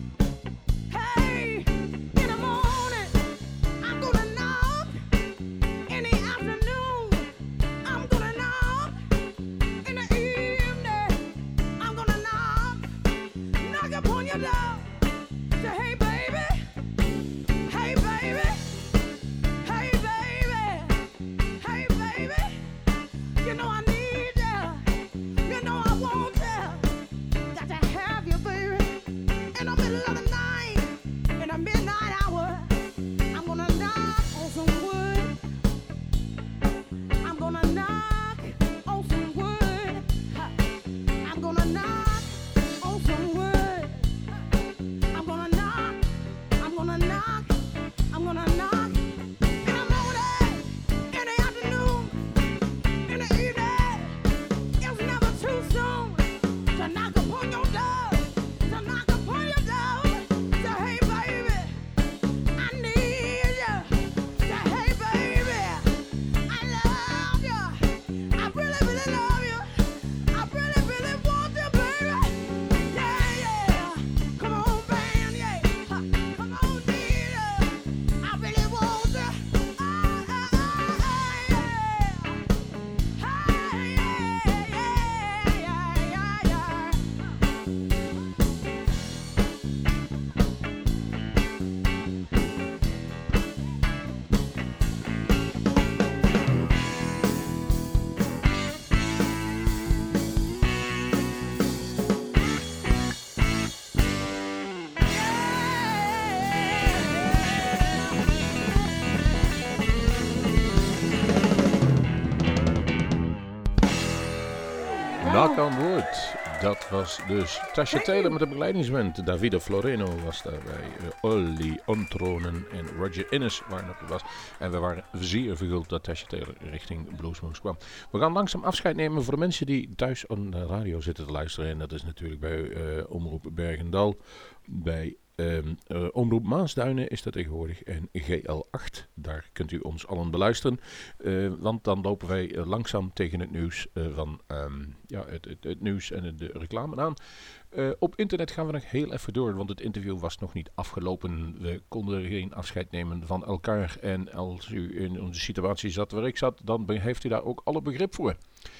Hey, in the morning, I'm gonna knock. In the afternoon, I'm gonna knock. In the evening, I'm gonna knock. Knock upon your door. Say, hey, baby. Hey, baby. Hey, baby. Hey, baby. You know I need ya. You know I want ya. Got to have you, baby. In the middle of the night, in the midnight hour, I'm gonna knock on some wood. I'm gonna knock on some wood. Ha. I'm gonna knock on some wood. I'm gonna knock Knock on Wood. Dat was dus Tasha Taylor met de begeleidingsband. Davide Floreno was daarbij. Uh, Olly Ontronen en Roger Innes waren op was. En we waren zeer verguld dat Tasha Taylor richting Bluesmoose kwam. We gaan langzaam afscheid nemen voor de mensen die thuis aan de radio zitten te luisteren. En dat is natuurlijk bij uh, Omroep Bergendal. Bij Um, uh, Omroep Maasduinen is dat tegenwoordig en G L acht. Daar kunt u ons allen beluisteren. Uh, want dan lopen wij uh, langzaam tegen het nieuws uh, van um, ja, het, het, het nieuws en de reclame aan. Uh, op internet gaan we nog heel even door, want het interview was nog niet afgelopen. We konden geen afscheid nemen van elkaar. En als u in onze situatie zat waar ik zat, dan heeft u daar ook alle begrip voor.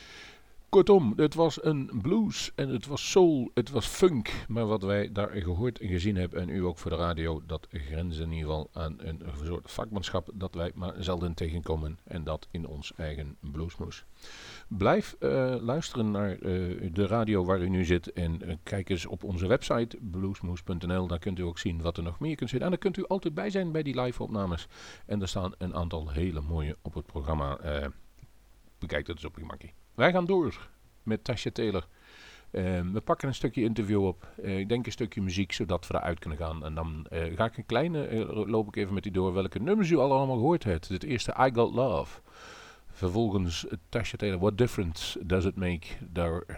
Kortom, het was een blues en het was soul, het was funk. Maar wat wij daar gehoord en gezien hebben, en u ook voor de radio, dat grenst in ieder geval aan een soort vakmanschap dat wij maar zelden tegenkomen. En dat in ons eigen Bluesmoose. Blijf uh, luisteren naar uh, de radio waar u nu zit en uh, kijk eens op onze website bluesmoose punt n l. Daar kunt u ook zien wat er nog meer kunt zitten. En daar kunt u altijd bij zijn bij die live opnames. En er staan een aantal hele mooie op het programma. Uh, bekijk dat eens op je makkie. Wij gaan door met Tasha Taylor. Uh, we pakken een stukje interview op. Uh, ik denk een stukje muziek, zodat we eruit kunnen gaan. En dan uh, ga ik een kleine, uh, loop ik even met u door welke nummers u al allemaal gehoord hebt. Het eerste, I Got Love. Vervolgens uh, Tasha Taylor, What Difference Does It Make? Daar, uh,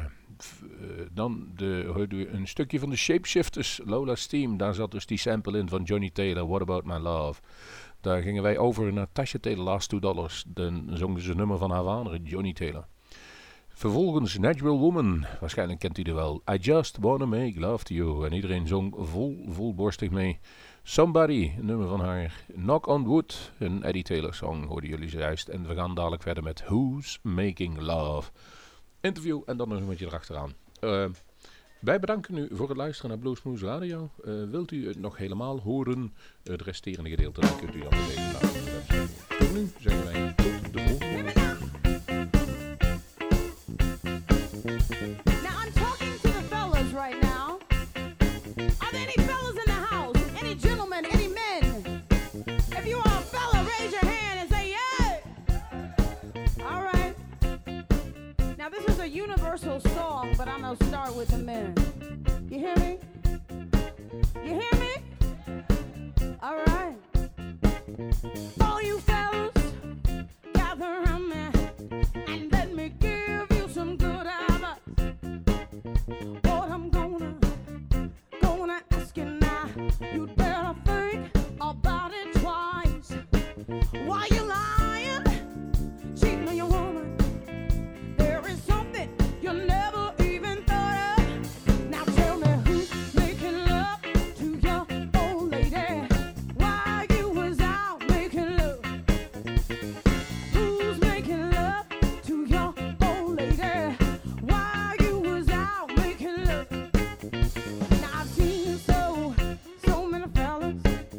uh, dan de, hoorde u een stukje van de Shapeshifters, Lola's Theme. Daar zat dus die sample in van Johnny Taylor, What About My Love? Daar gingen wij over naar Tasha Taylor, Last Two Dollars. Dan zongen ze een nummer van haar vader, Johnny Taylor. Vervolgens Natural Woman, waarschijnlijk kent u die wel. I Just Wanna Make Love To You. En iedereen zong vol, volborstig mee. Somebody, een nummer van haar. Knock on Wood, een Eddie Taylor song, hoorden jullie zojuist. En we gaan dadelijk verder met Who's Making Love. Interview en dan nog een beetje erachteraan. Uh, wij bedanken u voor het luisteren naar Bluesmoose Radio. Uh, wilt u het nog helemaal horen? Het resterende gedeelte dan kunt u dan even naar de website. Tot nu zeggen wij tot de volgende. Now I'm talking to the fellas right now. Are there any fellas in the house? Any gentlemen? Any men? If you are a fella, raise your hand and say yeah. All right. Now this is a universal song, but I'm gonna start with the men. You hear me? You hear me? All right. All you fellas, gather around me and let me give you some good advice. What I'm gonna, gonna ask you now, you'd better think about it twice. Why you lying, cheating on your woman? There is something you never even thought of. Now tell me who's making love to your old lady while you was out making love. Who's making love to your old lady while you was out making love? Now I've seen so, so many fellas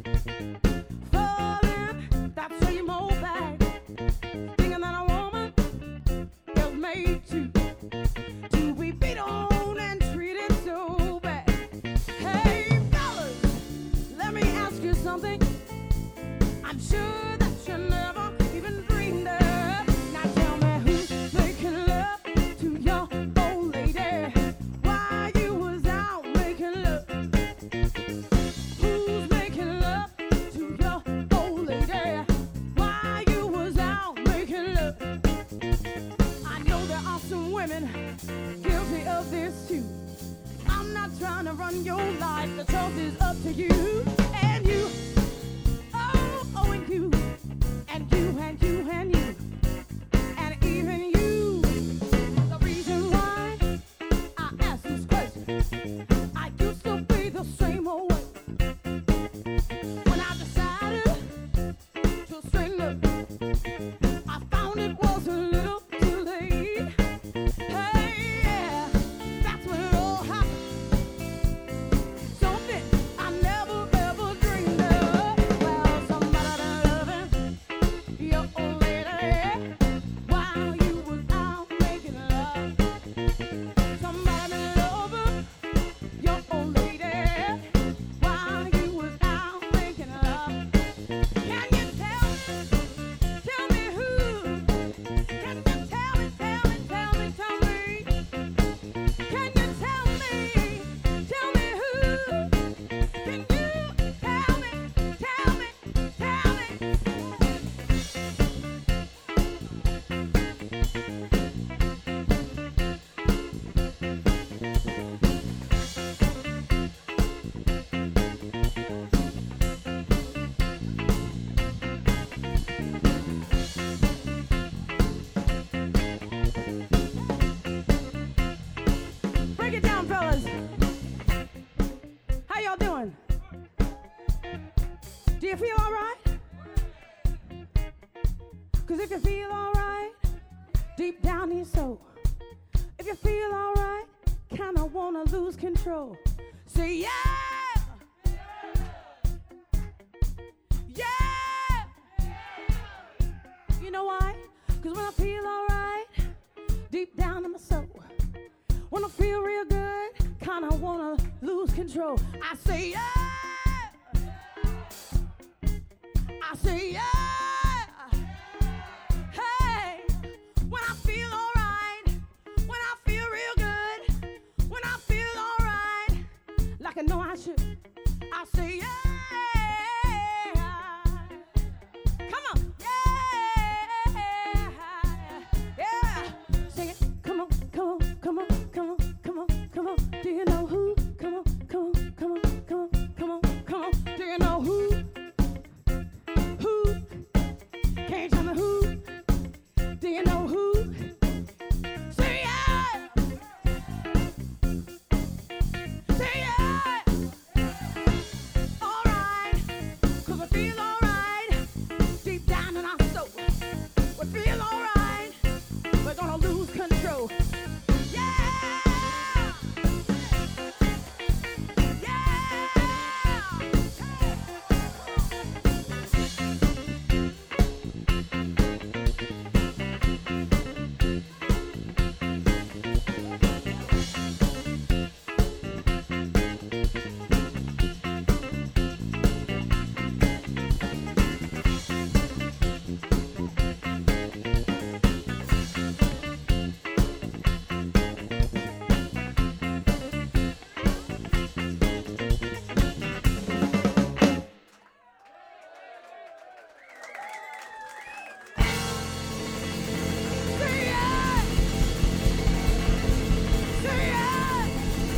falling that same old bag, thinking that a woman is made to, to be beat on and treated so bad. Hey fellas, let me ask you something I'm sure that you never even dreamed of. Now tell me who's making love to your old lady while you was out making love. Who's making love to your old lady while you was out making love? I know there are some women guilty of this too. I'm not trying to run your life, the choice is up to you and you. Oh, oh, and you, and you, and you, and you, and even you. The reason why I ask this question, I used to be the same old way. When I decided to straighten up, I found it was a little too late. Hey, yeah, that's when it all happened. Something I never ever Do you feel all right? Cause if you feel all right, deep down in your soul, if you feel all right, kinda wanna lose control. Say yeah! Yeah! You know why? Cause when I feel all right, deep down in my soul, when I feel real good, kinda wanna lose control. I say yeah! I say yeah! Hey! When I feel alright, when I feel real good, when I feel alright, like I know I should, I say yeah! Come on! Yeah! Yeah! Sing it! Come on, come on, come on, come on, come on, come on. Do you know who? Come on, come on, come on, come on, come on, come on. Do you know who? Who? Can you tell me who? Do you know who? Say yeah! Say yeah! Alright, cause we feel alright, deep down in our soul. We feel alright, we're gonna lose control. Yeah! Say yeah! Say yeah!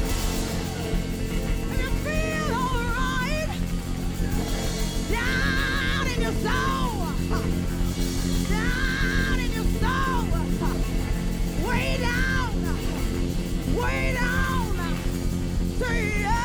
And you feel alright down in your soul, down in your soul, way down, way down. Say yeah!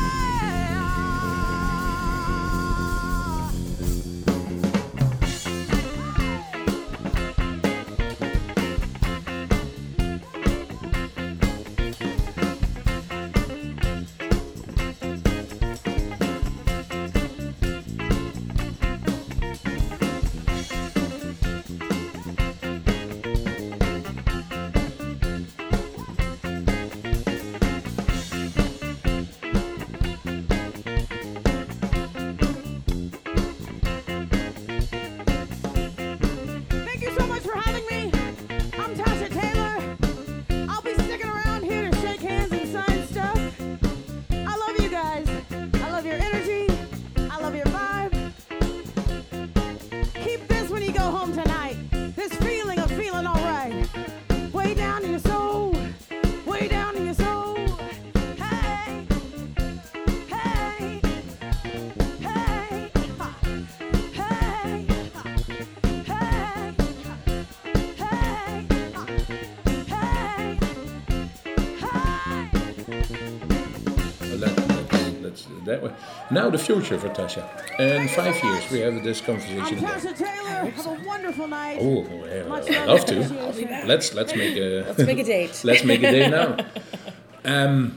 Thank you so much for having me. I'm Tasha Taylor. I'll be sticking around here to shake hands and sign stuff. I love you guys. I love your energy. I love your vibe. Keep this when you go home tonight. This feeling of feeling all right. Way down in your soul. Way down in your soul. Hey. Hey. Hey. Ha. Hey. Ha. Hey. Hey. Ha. Hey. Hey. Well, that, that, that's that way. Now the future for Tasha. In five years we have this I'm conversation again. Tasha Taylor. Have a wonderful night. Oh, yeah, Much I'd love love and to. appreciation. Let's let's make a Let's make a date. let's make a day now. Um,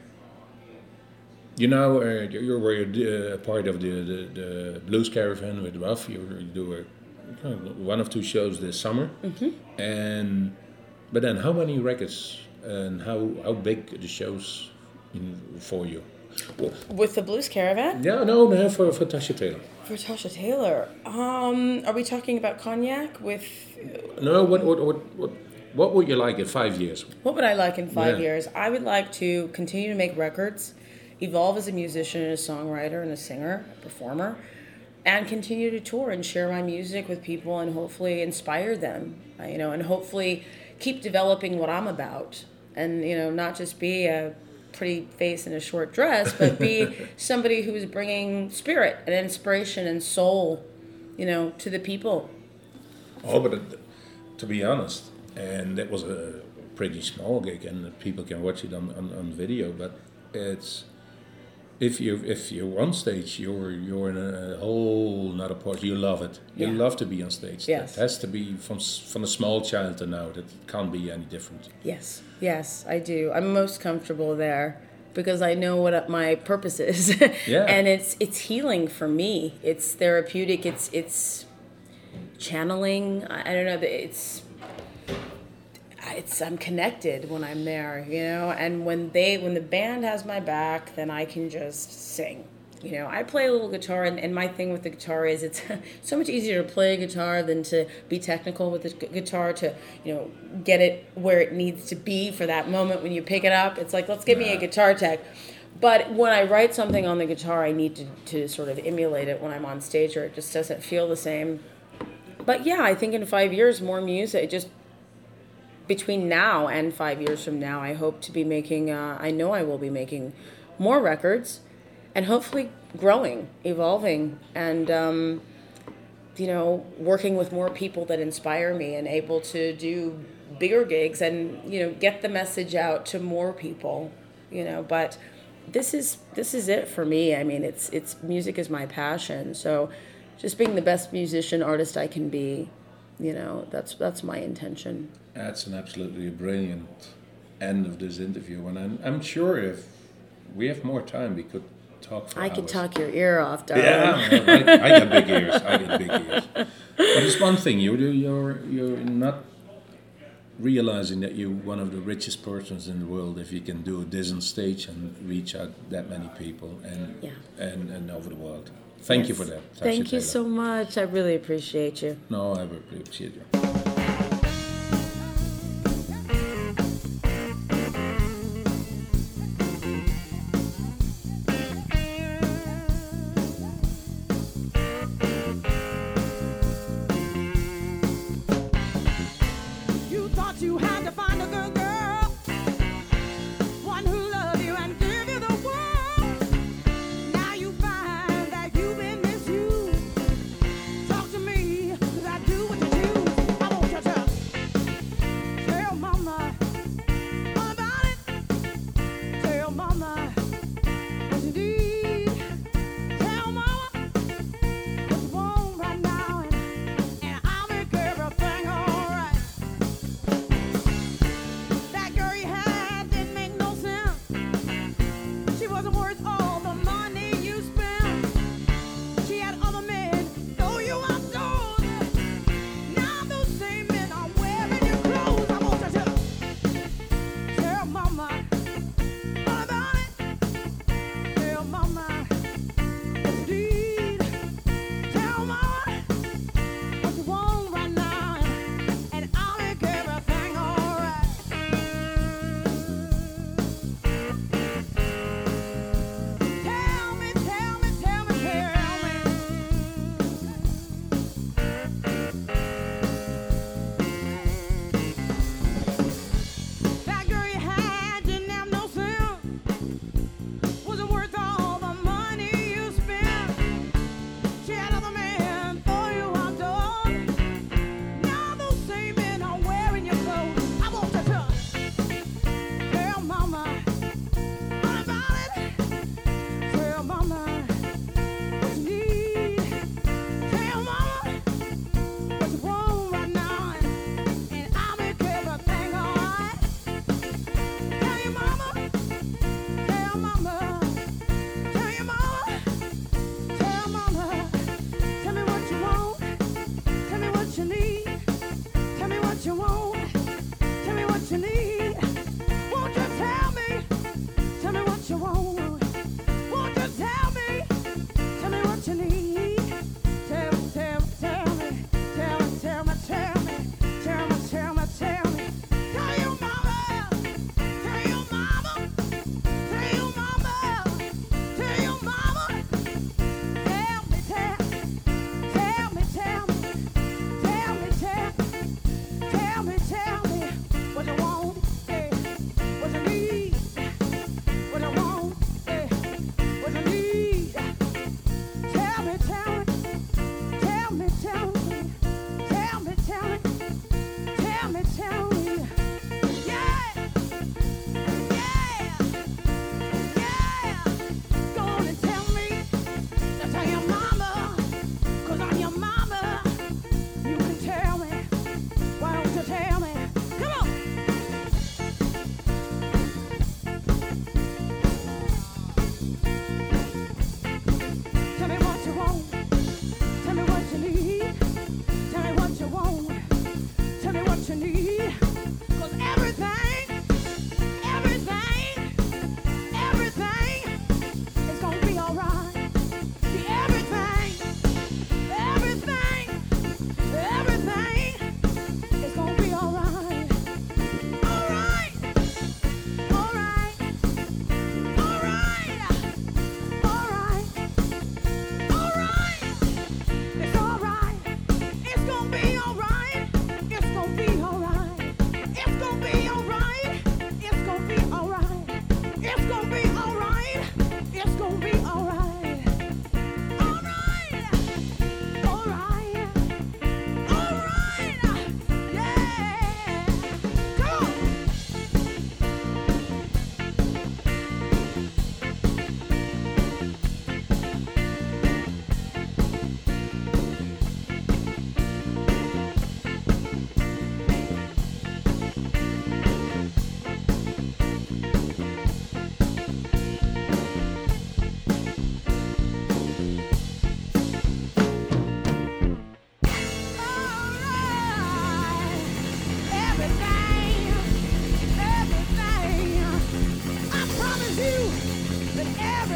you know, uh, you you were uh, part of the, the, the Blues Caravan with Ruff. You, were- you do a, uh, one of two shows this summer, Mm-hmm. and but then how many records and how how big the shows in, for you? Well, With the Blues Caravan? yeah, no, no, for for Tasha Taylor. For Tasha Taylor. Um, are we talking about Cognac with... No, what what what what what would you like in five years? What would I like in five Yeah. years? I would like to continue to make records, evolve as a musician and a songwriter and a singer, a performer, and continue to tour and share my music with people and hopefully inspire them, uh, you know, and hopefully keep developing what I'm about. And, you know, not just be a pretty face in a short dress, but be somebody who is bringing spirit and inspiration and soul, you know, to the people. Oh, but it, to be honest, and that was a pretty small gig, and people can watch it on, on, on video. But it's if you if you're on stage, you're you're in a whole another part. You love it. You Yeah. love to be on stage. Yes. That has to be from s- from a small child to now. That can't be any different. Yes, yes, I do. I'm most comfortable there because I know what my purpose is. Yeah. And it's it's healing for me. It's therapeutic. It's it's channeling. I, I don't know. It's it's I'm connected when I'm there, you know. And when they when the band has my back, then I can just sing. You know, I play a little guitar, and, and my thing with the guitar is it's so much easier to play a guitar than to be technical with the gu- guitar to, you know, get it where it needs to be for that moment when you pick it up. It's like, let's give me a guitar tech. But when I write something on the guitar, I need to, to sort of emulate it when I'm on stage, or it just doesn't feel the same. But yeah, I think in five years, more music, just between now and five years from now, I hope to be making, uh, I know I will be making more records. And hopefully growing, evolving, and, um, you know, working with more people that inspire me and able to do bigger gigs and, you know, get the message out to more people, you know. But this is this is it for me. I mean, it's it's music is my passion. So just being the best musician, artist I can be, you know, that's that's my intention. That's an absolutely brilliant end of this interview, and I'm I'm sure if we have more time, we could talk for I hours. could talk your ear off, darling. Yeah, I, I got big ears. I got big ears. But it's one thing you do. You're you're not realizing that you're one of the richest persons in the world if you can do this on stage and reach out that many people and Yeah. and, and over the world. Thank you for that. Tasha Thank you Taylor. so much. I really appreciate you. No, I really appreciate you. You thought you had to find a good girl, one who loved you and give you the world. Now you find that you've been misused. Talk to me, 'cause I do what you choose.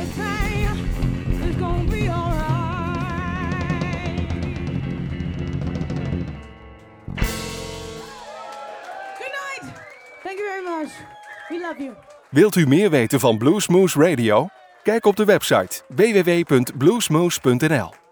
everything is gonna be alright. Good night. Thank you very much. We love you. Wilt u meer weten van Bluesmoose Radio? Kijk op de website w w w punt bluesmoose punt n l.